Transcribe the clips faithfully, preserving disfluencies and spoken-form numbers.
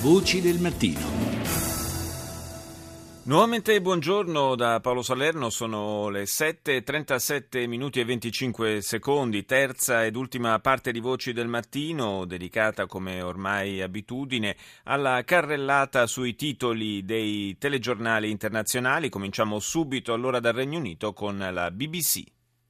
Voci del mattino. Nuovamente buongiorno da Paolo Salerno, sono le sette e trentasette minuti e venticinque secondi, terza ed ultima parte di Voci del Mattino, dedicata come ormai abitudine alla carrellata sui titoli dei telegiornali internazionali. Cominciamo subito allora dal Regno Unito con la B B C.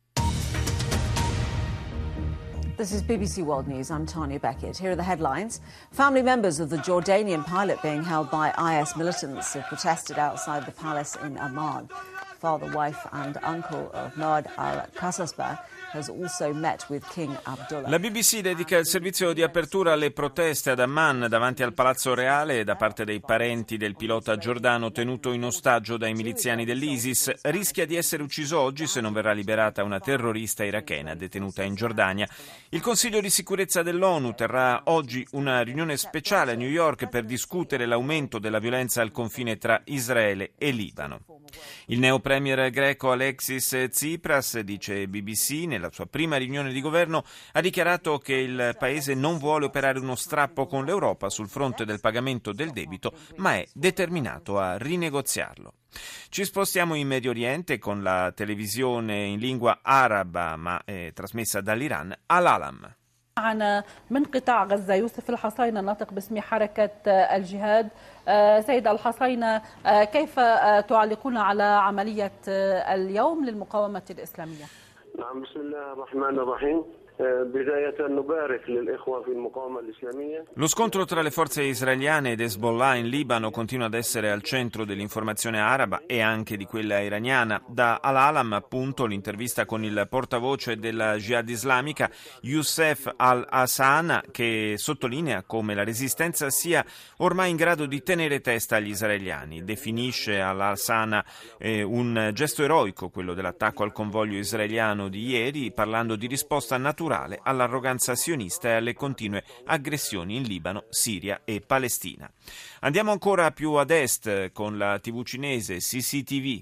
This is B B C World News. I'm Tanya Beckett. Here are the headlines. Family members of the Jordanian pilot being held by I S militants have protested outside the palace in Amman. Father, wife and uncle of Noad al-Qasasbeh has also met with King Abdullah. La B B C dedica il servizio di apertura alle proteste ad Amman davanti al Palazzo Reale da parte dei parenti del pilota giordano tenuto in ostaggio dai miliziani dell'ISIS. Rischia di essere ucciso oggi se non verrà liberata una terrorista irachena detenuta in Giordania. Il Consiglio di sicurezza dell'ONU terrà oggi una riunione speciale a New York per discutere l'aumento della violenza al confine tra Israele e Libano. Il neo premier greco Alexis Tsipras, dice B B C, nella sua prima riunione di governo ha dichiarato che il paese non vuole operare uno strappo con l'Europa sul fronte del pagamento del debito, ma è determinato a rinegoziarlo. Ci spostiamo in Medio Oriente con la televisione in lingua araba, ma è trasmessa dall'Iran, Al-Alam. معنا من قطاع غزة يوسف الحصينة الناطق باسم حركة الجهاد. سيد الحصينة كيف تعلقون على عملية اليوم للمقاومة الإسلامية؟ نعم بسم الله الرحمن الرحيم. بداية نبارك للإخوة في المقاومة الإسلامية. Lo scontro tra le forze israeliane ed Hezbollah in Libano continua ad essere al centro dell'informazione araba e anche di quella iraniana. Da Al-Alam, appunto, l'intervista con il portavoce della Jihad islamica, Youssef al-Hassan, che sottolinea come la resistenza sia ormai in grado di tenere testa agli israeliani. Definisce al-Hassan eh, un gesto eroico, quello dell'attacco al convoglio israeliano di ieri, parlando di risposta naturale all'arroganza sionista e alle continue aggressioni in Libano, Siria e Palestina. Andiamo ancora più ad est con la tivù cinese C C T V.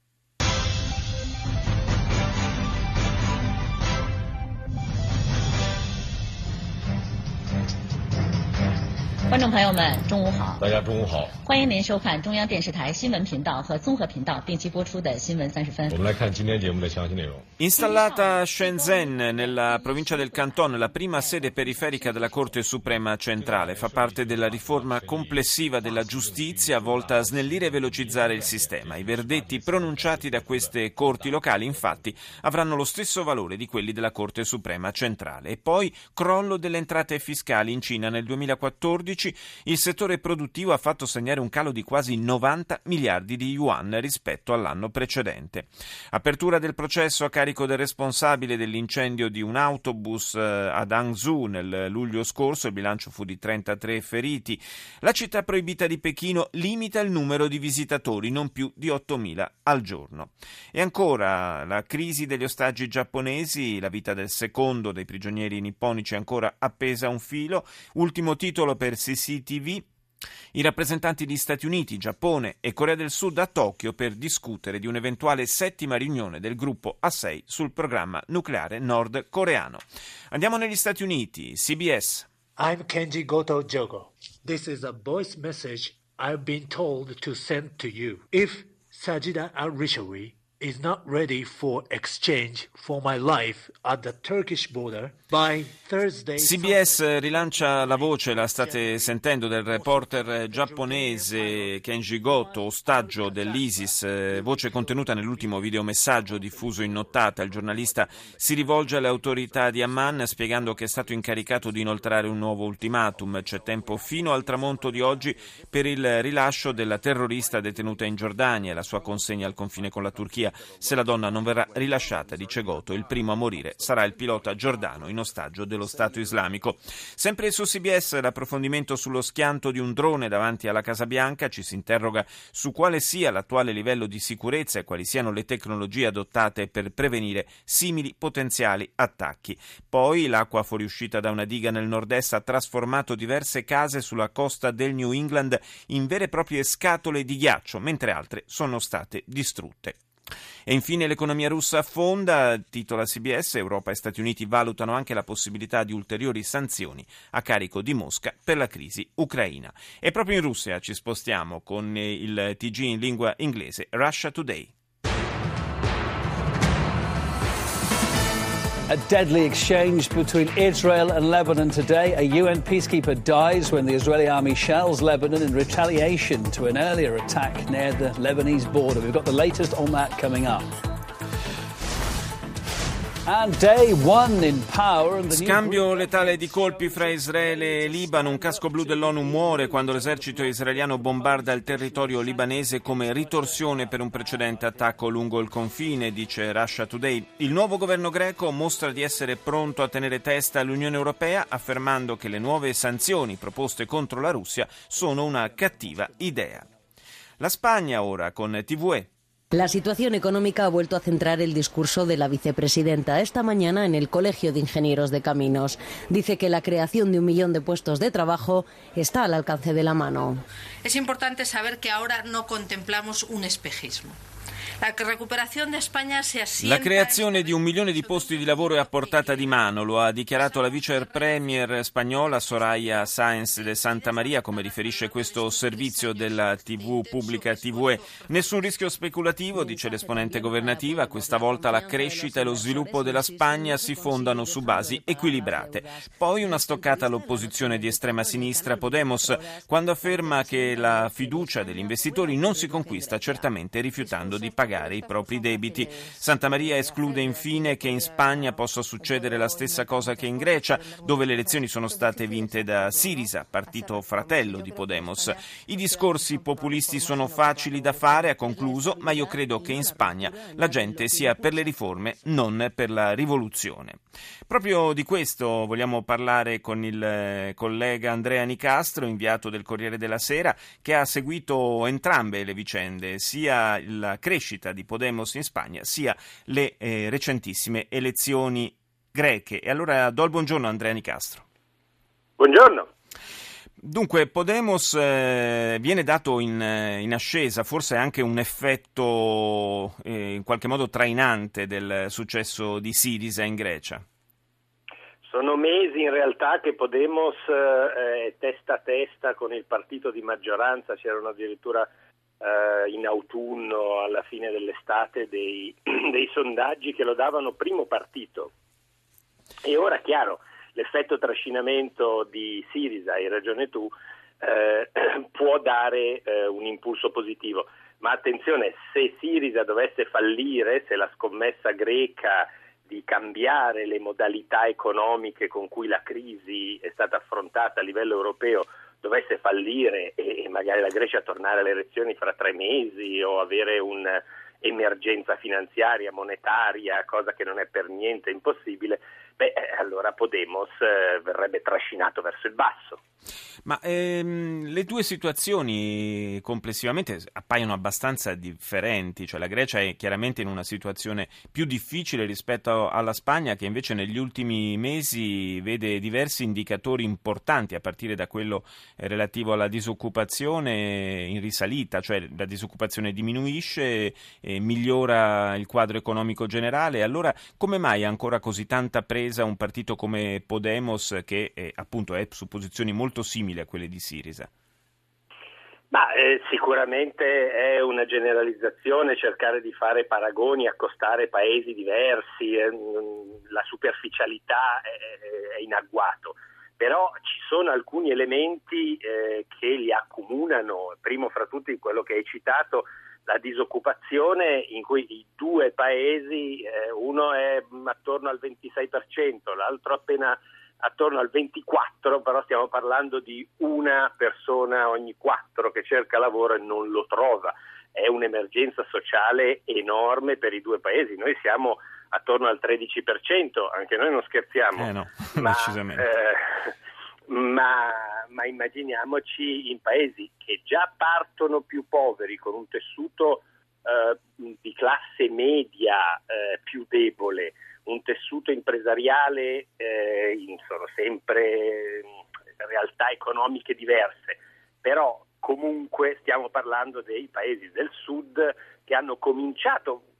观众朋友们，中午好！大家中午好！欢迎您收看中央电视台新闻频道和综合频道定期播出的新闻三十分。我们来看今天节目的详细内容。 Installata a Shenzhen, nella provincia del Canton, la prima sede periferica della Corte Suprema Centrale, fa parte della riforma complessiva della giustizia volta a snellire e velocizzare il sistema. I verdetti pronunciati da queste corti locali, infatti, avranno lo stesso valore di quelli della Corte Suprema Centrale. E poi crollo delle entrate fiscali in Cina nel duemilaquattordici. Il settore produttivo ha fatto segnare un calo di quasi novanta miliardi di yuan rispetto all'anno precedente. Apertura del processo a carico del responsabile dell'incendio di un autobus ad Hangzhou nel luglio scorso, il bilancio fu di trentatré feriti. La città proibita di Pechino limita il numero di visitatori, non più di ottomila al giorno. E ancora la crisi degli ostaggi giapponesi, la vita del secondo dei prigionieri nipponici è ancora appesa a un filo. Ultimo titolo per C C T V. I rappresentanti di Stati Uniti, Giappone e Corea del Sud a Tokyo per discutere di un'eventuale settima riunione del gruppo A sei sul programma nucleare nordcoreano. Andiamo negli Stati Uniti, C B S. I'm Kenji Goto Jogo. This is a voice message I've been told to send to you. If Sajida al-Rishawi is not ready for exchange for my life at the Turkish border by Thursday. C B S rilancia la voce, la state sentendo, del reporter giapponese Kenji Goto, ostaggio dell'ISIS, voce contenuta nell'ultimo videomessaggio diffuso in nottata. Il giornalista si rivolge alle autorità di Amman spiegando che è stato incaricato di inoltrare un nuovo ultimatum. C'è tempo fino al tramonto di oggi per il rilascio della terrorista detenuta in Giordania e la sua consegna al confine con la Turchia. Se la donna non verrà rilasciata, dice Goto, il primo a morire sarà il pilota giordano in ostaggio dello Stato Islamico. Sempre su C B S l'approfondimento sullo schianto di un drone davanti alla Casa Bianca. Ci si interroga su quale sia l'attuale livello di sicurezza e quali siano le tecnologie adottate per prevenire simili potenziali attacchi. Poi l'acqua fuoriuscita da una diga nel nord-est ha trasformato diverse case sulla costa del New England in vere e proprie scatole di ghiaccio, mentre altre sono state distrutte. E infine l'economia russa affonda, titola C B S, Europa e Stati Uniti valutano anche la possibilità di ulteriori sanzioni a carico di Mosca per la crisi ucraina. E proprio in Russia ci spostiamo con il T G in lingua inglese, Russia Today. A deadly exchange between Israel and Lebanon today. A U N peacekeeper dies when the Israeli army shells Lebanon in retaliation to an earlier attack near the Lebanese border. We've got the latest on that coming up. And day one in power and the Scambio letale di colpi fra Israele e Libano. Un casco blu dell'ONU muore quando l'esercito israeliano bombarda il territorio libanese come ritorsione per un precedente attacco lungo il confine, dice Russia Today. Il nuovo governo greco mostra di essere pronto a tenere testa all'Unione Europea, affermando che le nuove sanzioni proposte contro la Russia sono una cattiva idea. La Spagna ora con T V E. La situación económica ha vuelto a centrar el discurso de la vicepresidenta esta mañana en el Colegio de Ingenieros de Caminos. Dice que la creación de un millón de puestos de trabajo está al alcance de la mano. Es importante saber que ahora no contemplamos un espejismo. La recuperazione di Spagna si assienta. La creazione di un milione di posti di lavoro è a portata di mano, lo ha dichiarato la vice premier spagnola Soraya Sáenz de Santa Maria, come riferisce questo servizio della tivù pubblica T V E. Nessun rischio speculativo, dice l'esponente governativa, questa volta la crescita e lo sviluppo della Spagna si fondano su basi equilibrate. Poi una stoccata all'opposizione di estrema sinistra Podemos, quando afferma che la fiducia degli investitori non si conquista certamente rifiutando di pagare i propri debiti. Santa Maria esclude infine che in Spagna possa succedere la stessa cosa che in Grecia, dove le elezioni sono state vinte da Syriza, partito fratello di Podemos. I discorsi populisti sono facili da fare, ha concluso, ma io credo che in Spagna la gente sia per le riforme, non per la rivoluzione. Proprio di questo vogliamo parlare con il collega Andrea Nicastro, inviato del Corriere della Sera, che ha seguito entrambe le vicende, sia la crescita di Podemos in Spagna, sia le eh, recentissime elezioni greche. E allora do il buongiorno a Andrea Nicastro. Buongiorno. Dunque, Podemos eh, viene dato in, in ascesa, forse anche un effetto eh, in qualche modo trainante del successo di Syriza in Grecia. Sono mesi in realtà che Podemos è eh, testa a testa con il partito di maggioranza, c'erano addirittura eh, in autunno, alla fine dell'estate, dei, dei sondaggi che lo davano primo partito. E ora, chiaro, l'effetto trascinamento di Syriza, hai ragione tu, eh, può dare eh, un impulso positivo. Ma attenzione, se Syriza dovesse fallire, se la scommessa greca di cambiare le modalità economiche con cui la crisi è stata affrontata a livello europeo dovesse fallire e magari la Grecia tornare alle elezioni fra tre mesi o avere un'emergenza finanziaria, monetaria, cosa che non è per niente impossibile, beh, allora Podemos eh, verrebbe trascinato verso il basso. Ma ehm, le due situazioni complessivamente appaiono abbastanza differenti, cioè la Grecia è chiaramente in una situazione più difficile rispetto alla Spagna, che invece negli ultimi mesi vede diversi indicatori importanti, a partire da quello relativo alla disoccupazione in risalita, cioè la disoccupazione diminuisce e migliora il quadro economico generale. Allora come mai ha ancora così tanta presa un partito come Podemos, che eh, appunto è su posizioni molto simili a quelle di Syriza? Ma eh, sicuramente è una generalizzazione cercare di fare paragoni, accostare paesi diversi, eh, la superficialità è, è in agguato, però ci sono alcuni elementi eh, che li accomunano, primo fra tutti quello che hai citato, la disoccupazione, in cui i due paesi, eh, uno è attorno al ventisei per cento, l'altro appena attorno al ventiquattro per cento, però stiamo parlando di una persona ogni quattro che cerca lavoro e non lo trova. È un'emergenza sociale enorme per i due paesi. Noi siamo attorno al tredici per cento, anche noi non scherziamo. Eh no, ma, decisamente. Eh, ma, ma immaginiamoci in paesi che già partono più poveri, con un tessuto eh, di classe media eh, più debole, un tessuto impresariale, eh, sono sempre realtà economiche diverse, però comunque stiamo parlando dei paesi del sud che hanno cominciato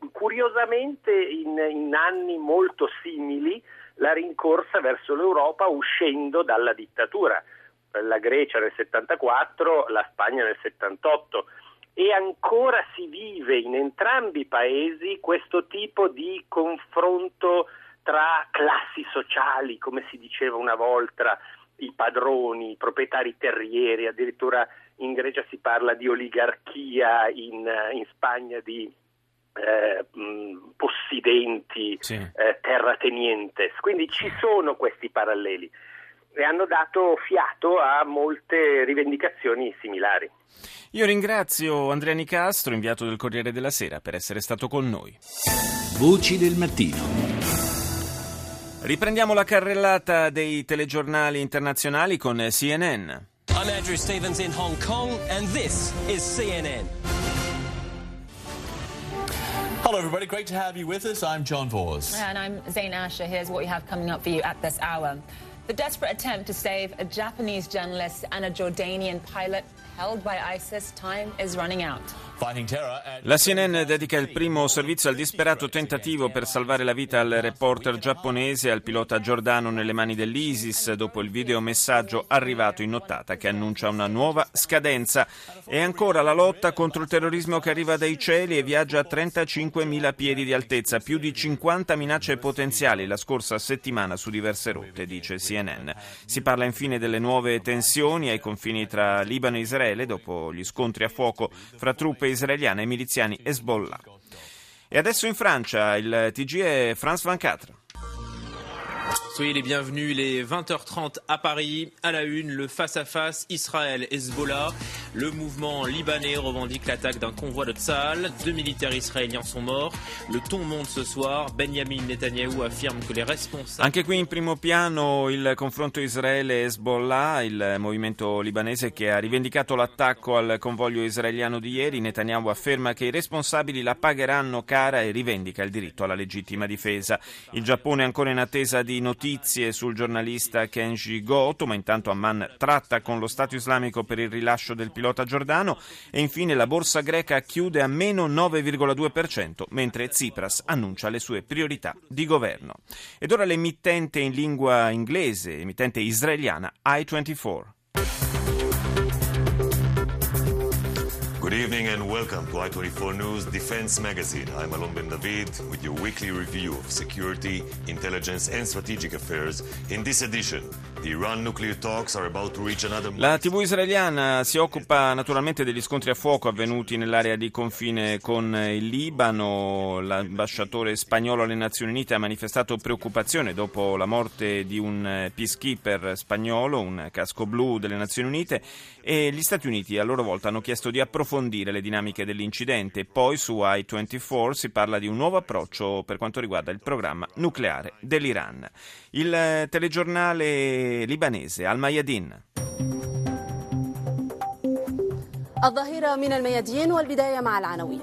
curiosamente in, in anni molto simili la rincorsa verso l'Europa uscendo dalla dittatura, la Grecia nel settantaquattro, la Spagna nel settantotto, e ancora si vive in entrambi i paesi questo tipo di confronto tra classi sociali, come si diceva una volta, i padroni, i proprietari terrieri, addirittura in Grecia si parla di oligarchia, in, in Spagna di eh, mh, possidenti, sì. eh, terratenientes, quindi ci sono questi paralleli e hanno dato fiato a molte rivendicazioni similari. Io ringrazio Andrea Nicastro, inviato del Corriere della Sera, per essere stato con noi. Voci del mattino. Riprendiamo la carrellata dei telegiornali internazionali con C N N. I'm Andrew Stevens in Hong Kong and this is C N N. Hello everybody, great to have you with us. I'm John Vors. And I'm Zain Asher. Here's what we have coming up for you at this hour. The desperate attempt to save a Japanese journalist and a Jordanian pilot held by ISIS. Time is running out. La C N N dedica il primo servizio al disperato tentativo per salvare la vita al reporter giapponese e al pilota giordano nelle mani dell'ISIS dopo il videomessaggio arrivato in nottata che annuncia una nuova scadenza. E ancora la lotta contro il terrorismo che arriva dai cieli e viaggia a trentacinquemila piedi di altezza, più di cinquanta minacce potenziali la scorsa settimana su diverse rotte, dice C N N. Si parla infine delle nuove tensioni ai confini tra Libano e Israele dopo gli scontri a fuoco fra truppe israeliane e miliziani Hezbollah. E adesso in Francia il T G è France ventiquattro. Soyez les bienvenus, les vingt heures trente à Paris. À la une, le face-à-face Israël-Hezbollah. Le mouvement libanais revendique l'attaque d'un convoi de Tsahal. Deux militaires israéliens sont morts. Le ton monte ce soir. Benjamin Netanyahu affirme que les responsables... Anche qui in primo piano il confronto Israele-Hezbollah, il movimento libanese che ha rivendicato l'attacco al convoglio israeliano di ieri. Netanyahu afferma che i responsabili la pagheranno cara e rivendica il diritto alla legittima difesa. Il Giappone è ancora in attesa di notizie sul giornalista Kenji Goto, ma intanto Amman tratta con lo Stato islamico per il rilascio del pilota giordano e infine la borsa greca chiude a meno nove virgola due per cento mentre Tsipras annuncia le sue priorità di governo. Ed ora l'emittente in lingua inglese, emittente israeliana I ventiquattro. Good evening and welcome to I twenty-four News Defense Magazine. I'm Alon Ben David with your weekly review of security, intelligence and strategic affairs. In this edition, the Iran nuclear talks are about to reach another... La tivù israeliana si occupa naturalmente degli scontri a fuoco avvenuti nell'area di confine con il Libano. L'ambasciatore spagnolo alle Nazioni Unite ha manifestato preoccupazione dopo la morte di un peacekeeper spagnolo, un casco blu delle Nazioni Unite, e gli Stati Uniti a loro volta hanno chiesto di approfondire le dinamiche dell'incidente. Poi su I ventiquattro si parla di un nuovo approccio per quanto riguarda il programma nucleare dell'Iran. Il telegiornale libanese Al Mayadin. الظهيرة من الميادين والبداية مع العناوين.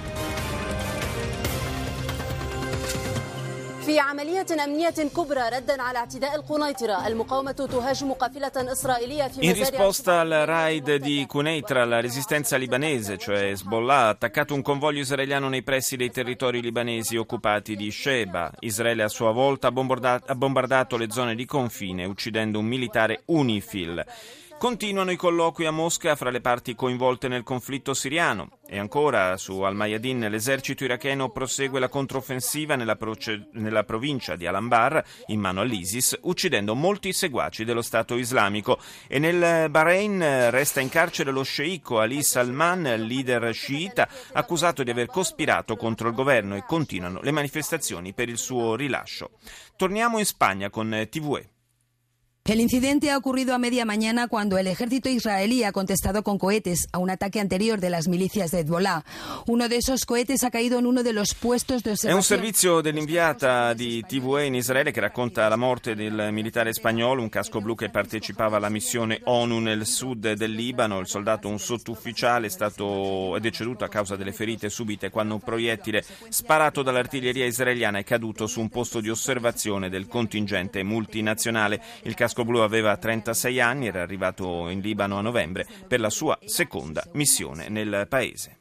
في عملية أمنية كبرى ردا على اعتداء القنيطرة المقاومة تهاجم قافلة إسرائيلية في In risposta al raid di Quneitra, la resistenza libanese, cioè Hezbollah, ha attaccato un convoglio israeliano nei pressi dei territori libanesi occupati di Sheba. Israele a sua volta ha bombardato, ha bombardato le zone di confine, uccidendo un militare UNIFIL. Continuano i colloqui a Mosca fra le parti coinvolte nel conflitto siriano. E ancora su Al Mayadin l'esercito iracheno prosegue la controffensiva nella, proce- nella provincia di Al-Anbar in mano all'ISIS, uccidendo molti seguaci dello Stato islamico. E nel Bahrain resta in carcere lo sceicco Ali Salman, leader sciita, accusato di aver cospirato contro il governo, e continuano le manifestazioni per il suo rilascio. Torniamo in Spagna con T V E. El incidente ha ocurrido a media mañana cuando el ejército israelí ha contestado con cohetes a un ataque anterior de las milicias de Hezbollah. Uno de esos cohetes ha caído en uno de los puestos de osservazione. È un servizio dell'inviata di T V E in Israele che racconta la morte del militare spagnolo, un casco blu che partecipava alla missione ONU nel sud del Libano. Il soldato, un sottufficiale, è stato è deceduto a causa delle ferite subite quando un proiettile sparato dall'artiglieria israeliana è caduto su un posto di osservazione del contingente multinazionale. Il casco blu aveva trentasei anni, era arrivato in Libano a novembre per la sua seconda missione nel paese.